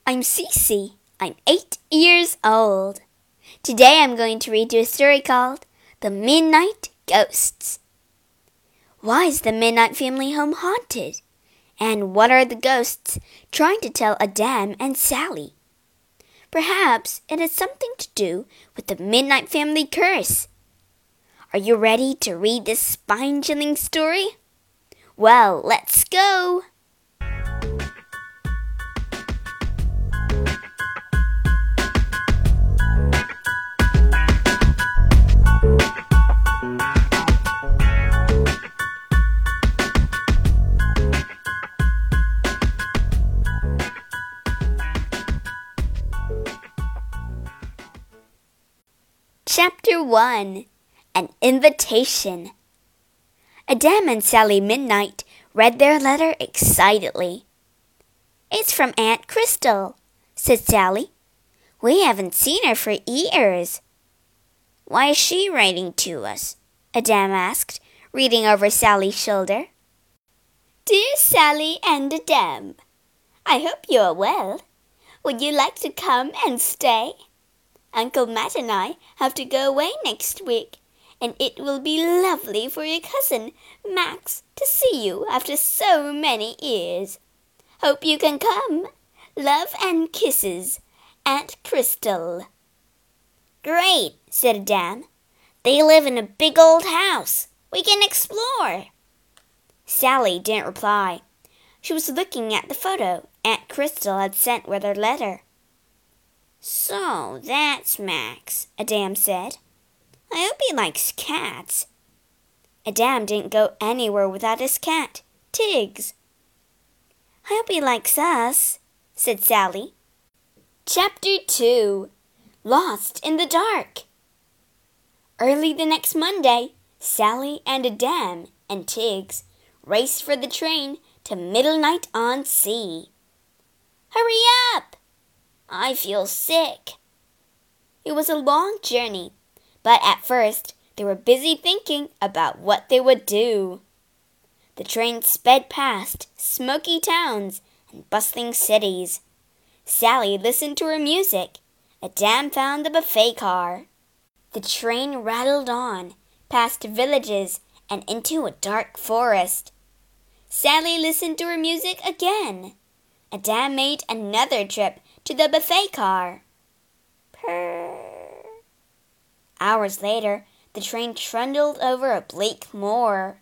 I'm Cece. I'm 8 years old. Today I'm going to read you a story called The Midnight Ghosts. Why is the Midnight family home haunted? And what are the ghosts trying to tell Adam and Sally? Perhaps it has something to do with the Midnight family curse. Are you ready to read this spine-chilling story? Well, let's go! Chapter 1. An Invitation. Adam and Sally Midnight read their letter excitedly. "It's from Aunt Crystal," said Sally. "We haven't seen her for years." "Why is she writing to us?" Adam asked, reading over Sally's shoulder. "Dear Sally and Adam, I hope you are well. Would you like to come and stay? Uncle Matt and I have to go away next week, and it will be lovely for your cousin, Max, to see you after so many years. Hope you can come. Love and kisses, Aunt Crystal." "Great," said Adam. "They live in a big old house. We can explore." Sally didn't reply. She was looking at the photo Aunt Crystal had sent with her letter. "So that's Max," Adam said. "I hope he likes cats." Adam didn't go anywhere without his cat, Tiggs. "I hope he likes us," said Sally. Chapter 2. Lost in the Dark. Early the next Monday, Sally and Adam and Tiggs raced for the train to Middlenight-on-Sea. "Hurry up! I feel sick." It was a long journey, but at first they were busy thinking about what they would do. The train sped past smoky towns and bustling cities. Sally listened to her music. Adam found the buffet car. The train rattled on, past villages and into a dark forest. Sally listened to her music again. Adam made another trip to the buffet car. Purr. Hours later, the train trundled over a bleak moor.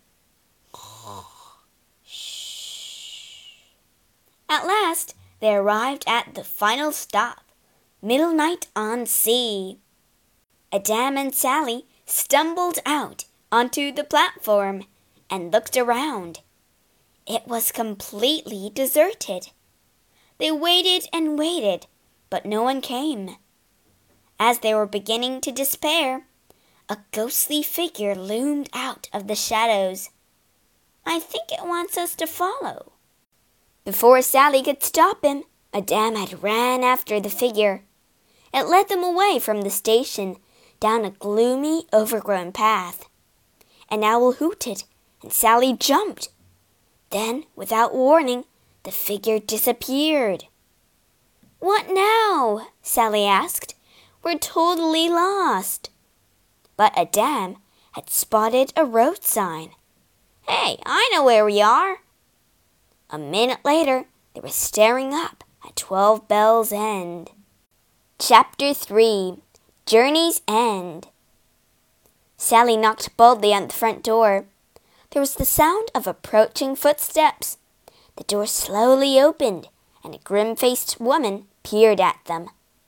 At last, they arrived at the final stop, Middlenight-on-Sea. Adam and Sally stumbled out onto the platform and looked around. It was completely deserted. They waited and waited, but no one came. As they were beginning to despair, a ghostly figure loomed out of the shadows. "I think it wants us to follow." Before Sally could stop him, Adam had ran after the figure. It led them away from the station, down a gloomy, overgrown path. An owl hooted, and Sally jumped. Then, without warning, the figure disappeared. "What now?" Sally asked. "We're totally lost." But Adam had spotted a road sign. "Hey, I know where we are." A minute later, they were staring up at 12 Bells End. Chapter 3. Journey's End. Sally knocked boldly on the front door. There was the sound of approaching footsteps. The door slowly opened, and a grim-faced woman peered at them.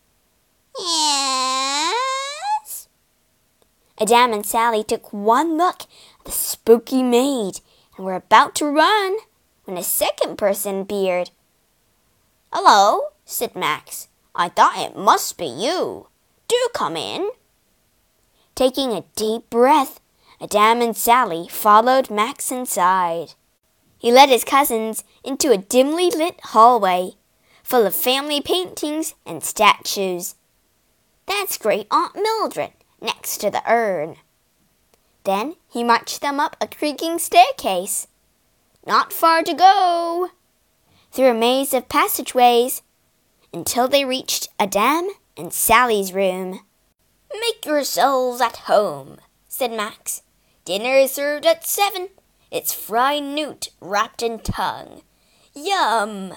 "Yes?" Adam and Sally took one look at the spooky maid and were about to run when a second person appeared. "Hello," said Max. "I thought it must be you. Do come in." Taking a deep breath, Adam and Sally followed Max inside. He led his cousins into a dimly lit hallway, full of family paintings and statues. "That's Great Aunt Mildred, next to the urn." Then he marched them up a creaking staircase. "Not far to go." Through a maze of passageways until they reached Adam and Sally's room. "Make yourselves at home," said Max. "Dinner is served at 7. It's fried newt wrapped in tongue. Yum!"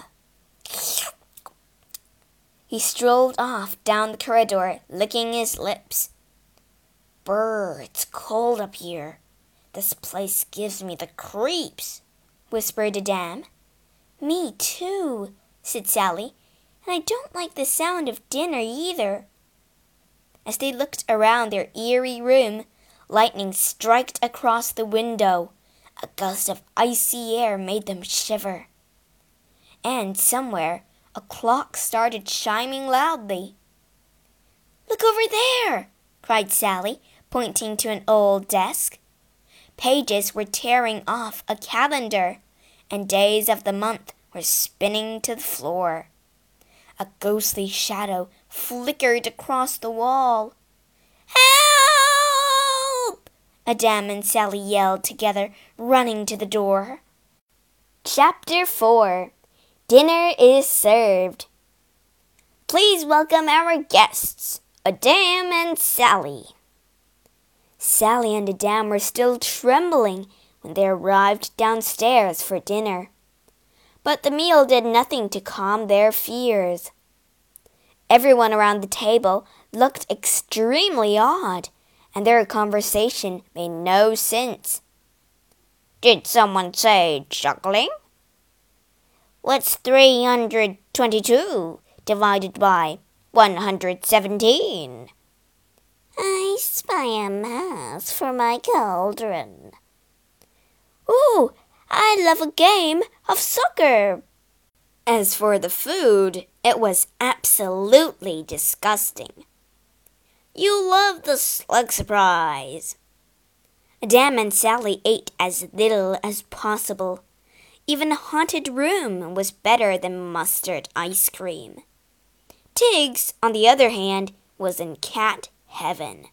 He strolled off down the corridor, licking his lips. "Brr, it's cold up here. This place gives me the creeps," whispered Adam. "Me too," said Sally, "and I don't like the sound of dinner either." As they looked around their eerie room, lightning struck across the window. A gust of icy air made them shiver. And somewhere, a clock started chiming loudly. "Look over there!" cried Sally, pointing to an old desk. Pages were tearing off a calendar, and days of the month were spinning to the floor. A ghostly shadow flickered across the wall. "Help!" Adam and Sally yelled together, running to the door. Chapter 4. Dinner is served. Please welcome our guests, Adam and Sally. Sally and Adam were still trembling when they arrived downstairs for dinner. But the meal did nothing to calm their fears. Everyone around the table looked extremely odd, and their conversation made no sense. "Did someone say juggling?" "What's 322 divided by 117? "I spy a mouse for my cauldron." "Ooh, I love a game of soccer." As for the food, it was absolutely disgusting. "You love the slug surprise." Adam and Sally ate as little as possible. Even a haunted room was better than mustard ice cream. Tiggs, on the other hand, was in cat heaven.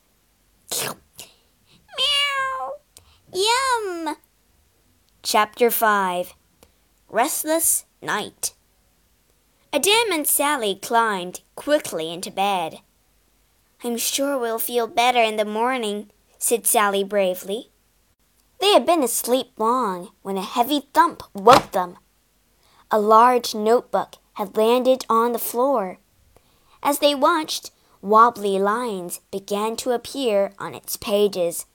Meow! Yum! Chapter 5. Restless Night. Adam and Sally climbed quickly into bed. "I'm sure we'll feel better in the morning," said Sally bravely. They had been asleep long when a heavy thump woke them. A large notebook had landed on the floor. As they watched, wobbly lines began to appear on its pages.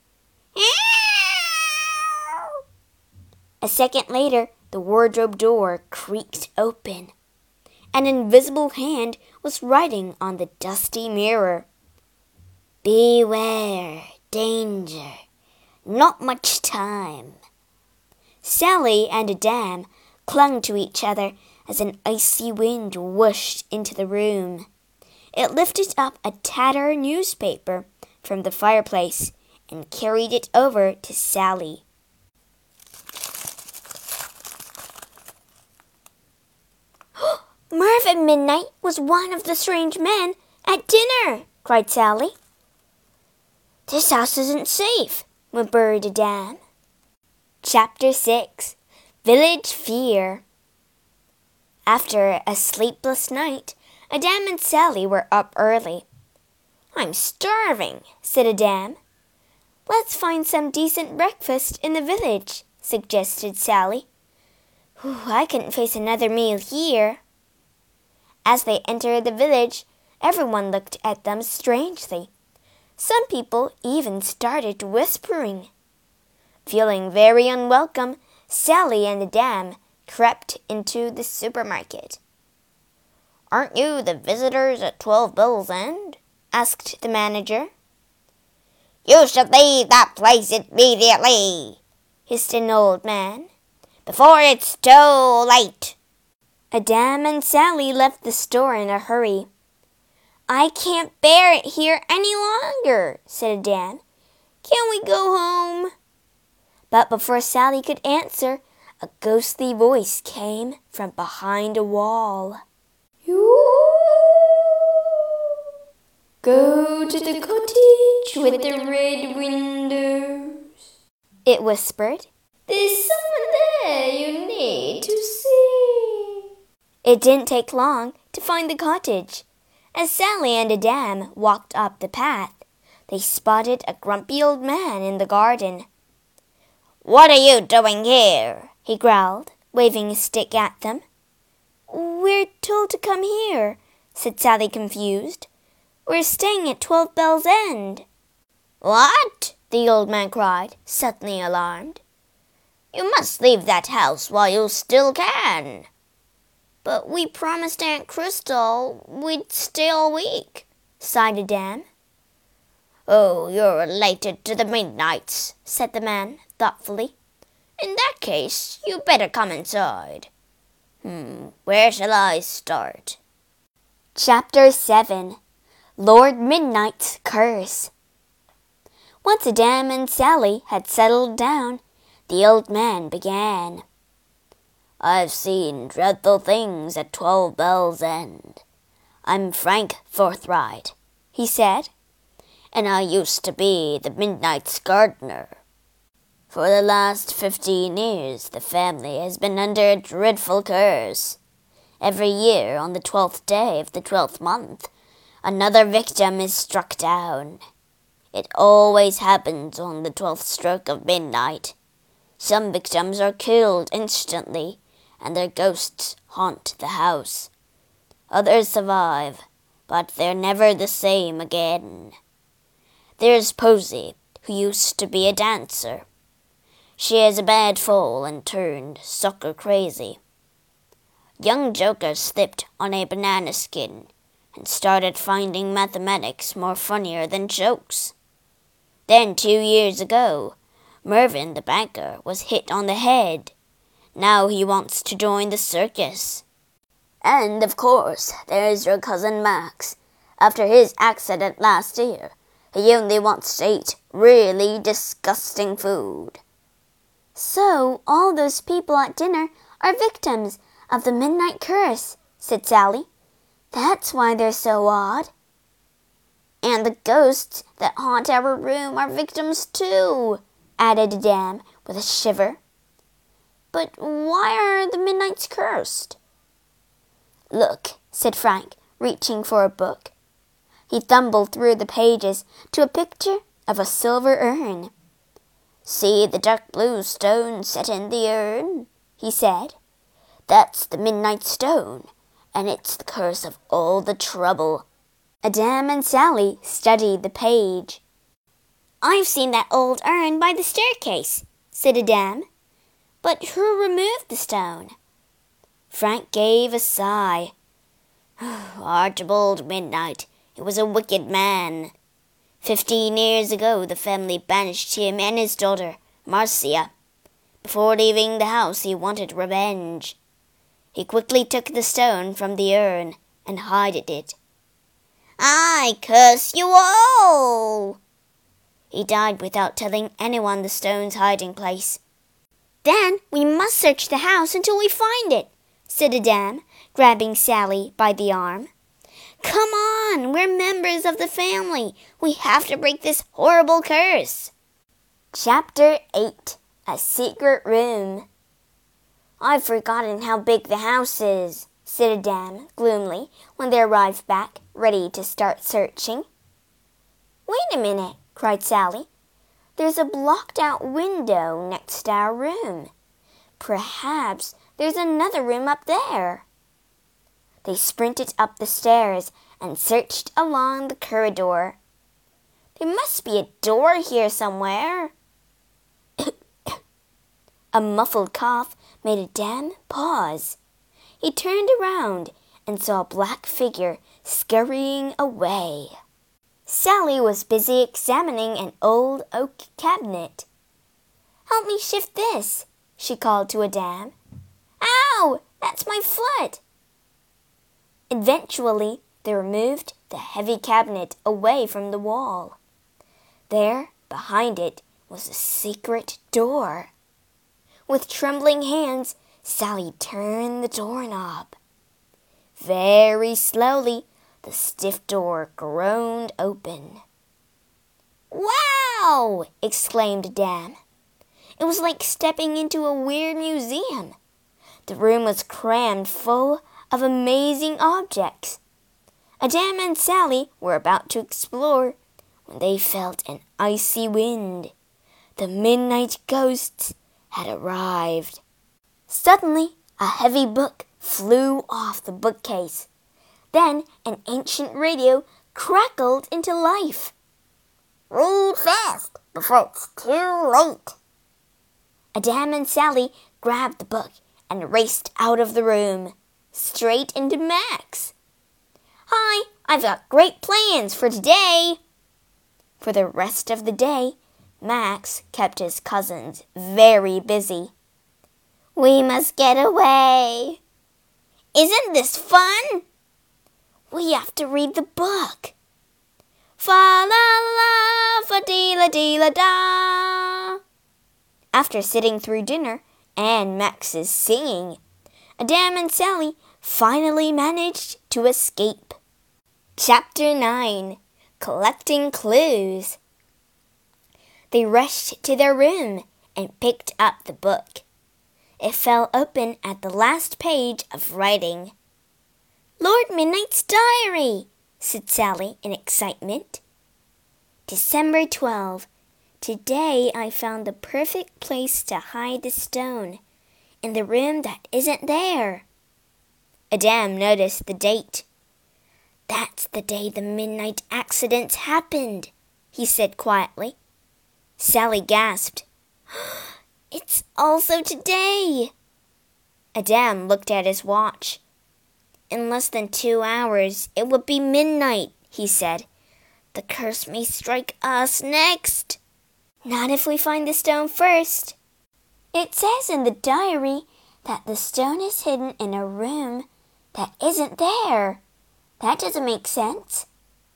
A second later, the wardrobe door creaked open. An invisible hand was writing on the dusty mirror. "Beware, danger, not much time." Sally and Adam clung to each other as an icy wind whooshed into the room. It lifted up a tattered newspaper from the fireplace and carried it over to Sally. "Merv at midnight was one of the strange men at dinner," cried Sally. "This house isn't safe," whimpered Adam. Chapter 6. Village Fear. After a sleepless night, Adam and Sally were up early. "I'm starving," said Adam. "Let's find some decent breakfast in the village," suggested Sally. "I couldn't face another meal here." As they entered the village, everyone looked at them strangely. Some people even started whispering. Feeling very unwelcome, Sally and Adam crept into the supermarket. "Aren't you the visitors at 12 Bill's End?" asked the manager. "You should leave that place immediately," hissed an old man, "before it's too late." Adam and Sally left the store in a hurry. "I can't bear it here any longer," said Adam. "Can't we go home?" But before Sally could answer, a ghostly voice came from behind a wall. "Go to the cottage with the red windows," it whispered. "There's someone there you need to see." It didn't take long to find the cottage. As Sally and Adam walked up the path, they spotted a grumpy old man in the garden. "What are you doing here?" he growled, waving his stick at them. "We're told to come here," said Sally, confused. "We're staying at 12 Bells End." "What?" the old man cried, suddenly alarmed. "You must leave that house while you still can." "But we promised Aunt Crystal we'd stay all week," sighed Adam. "Oh, you're related to the Midnights," said the man thoughtfully. "In that case, you better come inside. Where shall I start?" Chapter 7. Lord Midnight's Curse. Once Adam and Sally had settled down, the old man began. "I've seen dreadful things at 12 Bells End. I'm Frank Forthright," he said, "and I used to be the Midnight's gardener. For the last 15 years the family has been under a dreadful curse. Every year on the 12th day of the 12th month, another victim is struck down. It always happens on the 12th stroke of midnight. Some victims are killed instantly, and their ghosts haunt the house. Others survive, but they're never the same again. There's Posy, who used to be a dancer. She has a bad fall and turned soccer crazy. Young Joker slipped on a banana skin and started finding mathematics more funnier than jokes. Then 2 years ago, Mervyn the banker was hit on the head. Now he wants to join the circus. And, of course, there's your cousin Max. After his accident last year, he only wants to eat really disgusting food." "So all those people at dinner are victims of the midnight curse," said Sally. "That's why they're so odd." "And the ghosts that haunt our room are victims too," added Adam with a shiver. "But why are the Midnights cursed?" "Look," said Frank, reaching for a book. He thumbled through the pages to a picture of a silver urn. "See the dark blue stone set in the urn?" he said. "That's the Midnight Stone, and it's the curse of all the trouble." Adam and Sally studied the page. "I've seen that old urn by the staircase," said Adam. "But who removed the stone?" Frank gave a sigh. "Archibald Midnight. He was a wicked man. 15 years ago the family banished him and his daughter, Marcia. Before leaving the house he wanted revenge. He quickly took the stone from the urn and hid it. I curse you all!" He died without telling anyone the stone's hiding place. "Then we must search the house until we find it," said Adam, grabbing Sally by the arm. "Come on, we're members of the family. We have to break this horrible curse." Chapter 8. A Secret Room. "I've forgotten how big the house is," said Adam gloomily when they arrived back, ready to start searching. "Wait a minute," cried Sally. "There's a blocked-out window next to our room. Perhaps there's another room up there." They sprinted up the stairs and searched along the corridor. "There must be a door here somewhere." A muffled cough made Adam pause. He turned around and saw a black figure scurrying away. Sally was busy examining an old oak cabinet. "Help me shift this," she called to Adam. "Ow! That's my foot!" Eventually, they removed the heavy cabinet away from the wall. There, behind it, was a secret door. With trembling hands, Sally turned the doorknob. Very slowly, the stiff door groaned open. "Wow!" exclaimed Adam. It was like stepping into a weird museum. The room was crammed full of amazing objects. Adam and Sally were about to explore when they felt an icy wind. The midnight ghosts had arrived. Suddenly, a heavy book flew off the bookcase. Then an ancient radio crackled into life. Read fast before it's too late. Adam and Sally grabbed the book and raced out of the room, straight into Max. Hi, I've got great plans for today. For the rest of the day, Max kept his cousins very busy. We must get away. Isn't this fun? We have to read the book. Fa la la, fa dee la dee la da. After sitting through dinner and Max's singing, Adam and Sally finally managed to escape. Chapter 9. Collecting Clues. They rushed to their room and picked up the book. It fell open at the last page of writing. Lord Midnight's Diary, said Sally in excitement. December 12. Today I found the perfect place to hide the stone, in the room that isn't there. Adam noticed the date. That's the day the midnight accidents happened, he said quietly. Sally gasped. It's also today. Adam looked at his watch. In less than 2 hours, it would be midnight, he said. The curse may strike us next. Not if we find the stone first. It says in the diary that the stone is hidden in a room that isn't there. That doesn't make sense.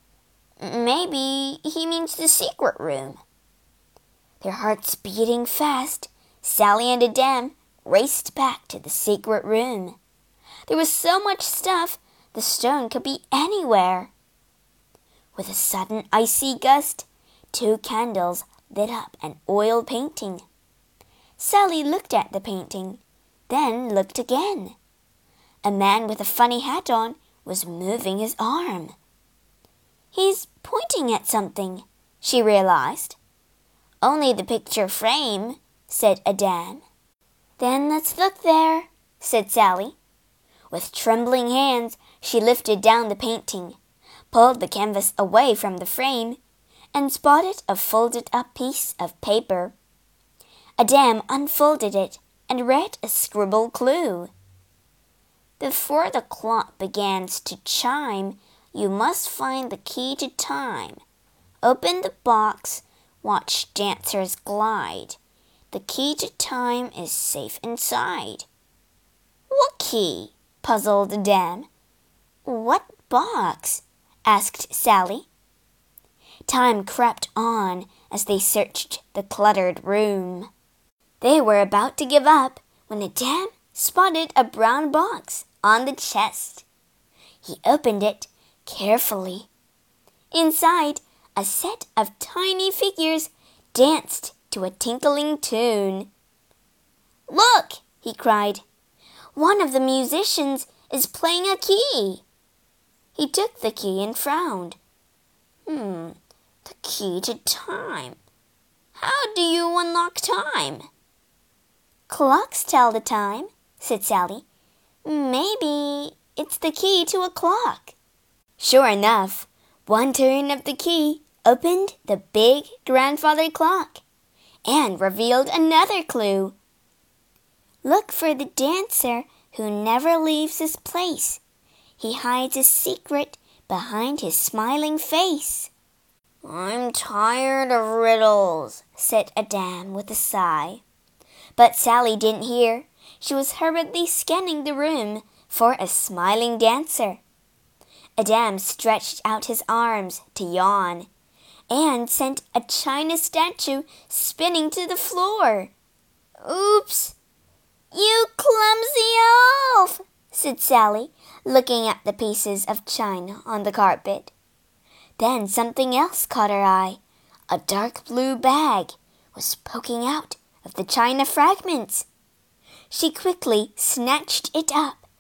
Maybe he means the secret room. Their hearts beating fast, Sally and Adam raced back to the secret room. There was so much stuff, the stone could be anywhere. With a sudden icy gust, 2 candles lit up an oil painting. Sally looked at the painting, then looked again. A man with a funny hat on was moving his arm. He's pointing at something, she realized. Only the picture frame, said Adam. Then let's look there, said Sally. With trembling hands, she lifted down the painting, pulled the canvas away from the frame, and spotted a folded-up piece of paper. Adam unfolded it and read a scribbled clue. Before the clock begins to chime, you must find the key to time. Open the box, watch dancers glide. The key to time is safe inside. What key? Puzzled Adam. What box? Asked Sally. Time crept on as they searched the cluttered room. They were about to give up when Adam spotted a brown box on the chest. He opened it carefully. Inside, a set of tiny figures danced to a tinkling tune. Look, he cried. One of the musicians is playing a key. He took the key and frowned. The key to time. How do you unlock time? Clocks tell the time, said Sally. Maybe it's the key to a clock. Sure enough, one turn of the key opened the big grandfather clock and revealed another clue. Look for the dancer who never leaves his place. He hides a secret behind his smiling face. I'm tired of riddles, said Adam with a sigh. But Sally didn't hear. She was hurriedly scanning the room for a smiling dancer. Adam stretched out his arms to yawn and sent a china statue spinning to the floor. Oops! You clumsy elf, said Sally, looking at the pieces of china on the carpet. Then something else caught her eye. A dark blue bag was poking out of the china fragments. She quickly snatched it up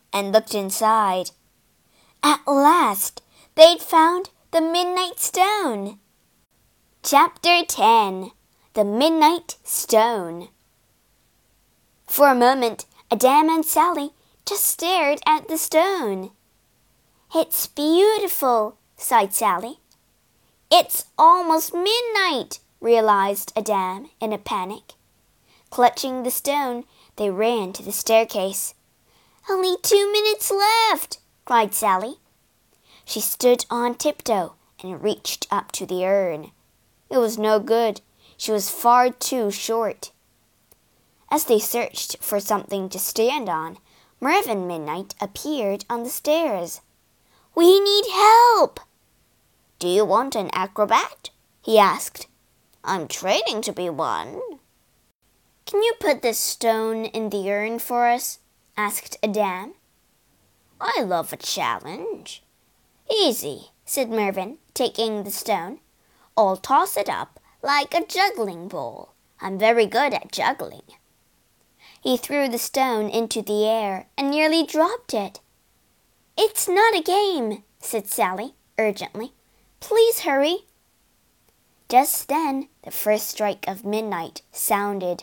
and looked inside. At last, they'd found the Midnight Stone. Chapter 10. The Midnight Stone. For a moment, Adam and Sally just stared at the stone. "It's beautiful," sighed Sally. "It's almost midnight," realized Adam in a panic. Clutching the stone, they ran to the staircase. "Only 2 minutes left," cried Sally. She stood on tiptoe and reached up to the urn. It was no good. She was far too short. As they searched for something to stand on, Mervyn Midnight appeared on the stairs. "We need help." "Do you want an acrobat?" he asked. "I'm training to be one." "Can you put this stone in the urn for us?" asked Adam. "I love a challenge." "Easy," said Mervyn, taking the stone. "I'll toss it up like a juggling ball. I'm very good at juggling." He threw the stone into the air and nearly dropped it. "It's not a game," said Sally urgently. "Please hurry." Just then, the first strike of midnight sounded.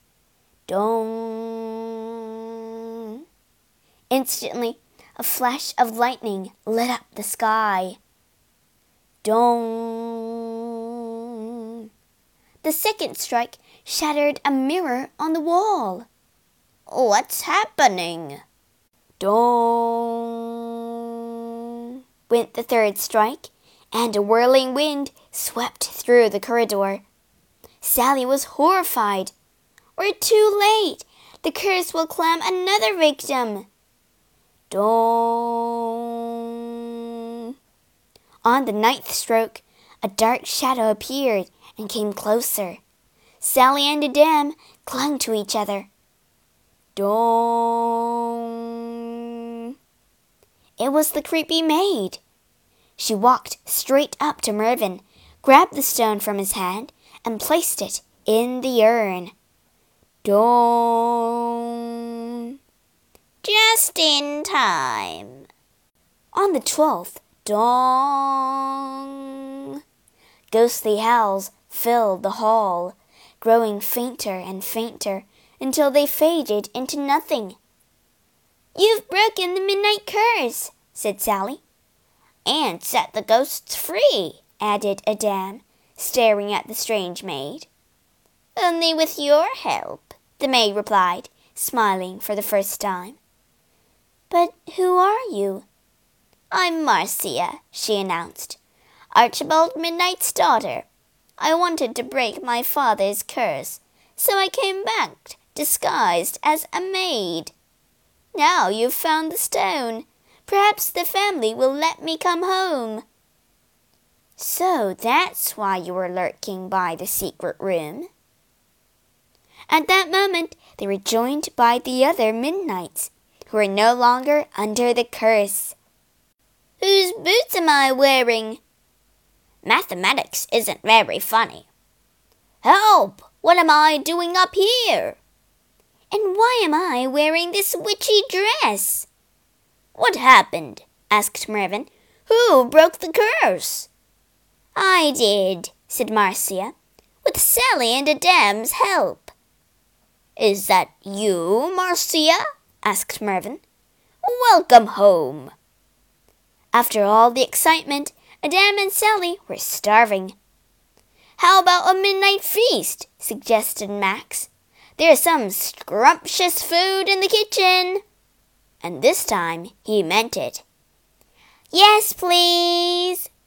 Dong! Instantly, a flash of lightning lit up the sky. Dong! The second strike shattered a mirror on the wall. "What's happening?" Dong! Went the third strike, and a whirling wind swept through the corridor. Sally was horrified. "We're too late. The curse will claim another victim." Dong! On the 9th stroke, a dark shadow appeared and came closer. Sally and Adam clung to each other. Dong! It was the creepy maid. She walked straight up to Mervyn, grabbed the stone from his hand, and placed it in the urn. Dong! Just in time. On the 12th, dong! Ghostly howls filled the hall, growing fainter and fainter until they faded into nothing. "You've broken the midnight curse," said Sally. "And set the ghosts free," added Adam, staring at the strange maid. "Only with your help," the maid replied, smiling for the first time. "But who are you?" "I'm Marcia," she announced. "Archibald Midnight's daughter. I wanted to break my father's curse, so I came back disguised as a maid. Now you've found the stone. Perhaps the family will let me come home." "So that's why you were lurking by the secret room." At that moment, they were joined by the other Midnights, who were no longer under the curse. "Whose boots am I wearing?" "Mathematics isn't very funny." "Help! What am I doing up here?" "And why am I wearing this witchy dress?" "What happened?" asked Mervyn. "Who broke the curse?" "I did," said Marcia, "with Sally and Adam's help." "Is that you, Marcia?" asked Mervyn. "Welcome home." After all the excitement, Adam and Sally were starving. "How about a midnight feast?" suggested Max. "There's some scrumptious food in the kitchen." And this time he meant it. "Yes, please,"